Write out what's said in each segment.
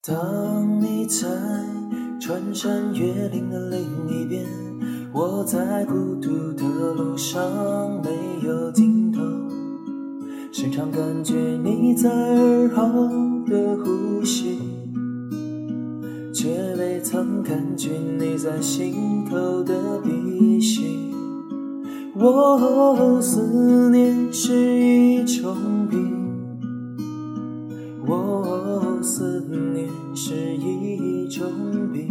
当你在穿山越岭的另一边，我在孤独的路上没有尽头，时常感觉你在耳后的呼吸，却未曾感觉你在心头的鼻息。我思念是一种病，我思念是一种病，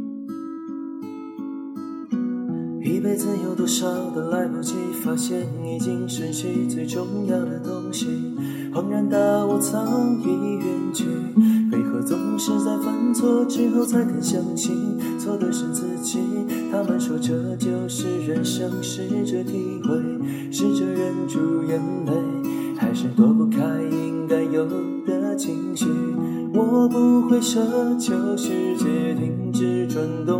一辈子有多少的来不及发现，已经失去最重要的东西。恍然大悟，早已远去，为何总是在犯错之后才肯相信错的是自己？他们说这就是人生，试着体会，试着忍住眼泪，还是躲不开应该有的情绪。我不会奢求世界停止转动，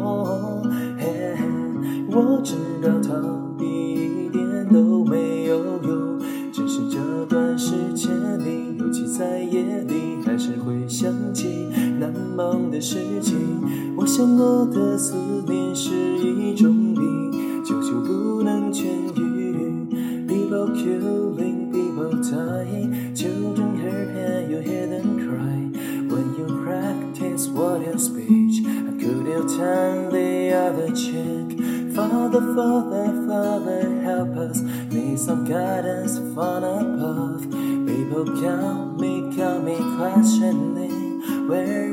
我知道逃避一点都没有用，只是这段时间里，尤其在夜里，还是会想起难忘的事情。我想我的思念是一种病，久久不能痊愈。 People killing, people dying, children hurt, you hear them cry. When you practice what you speech, could you turn the other cheek? Father, Father, Father, help us, need some guidance from above. People count me questioning where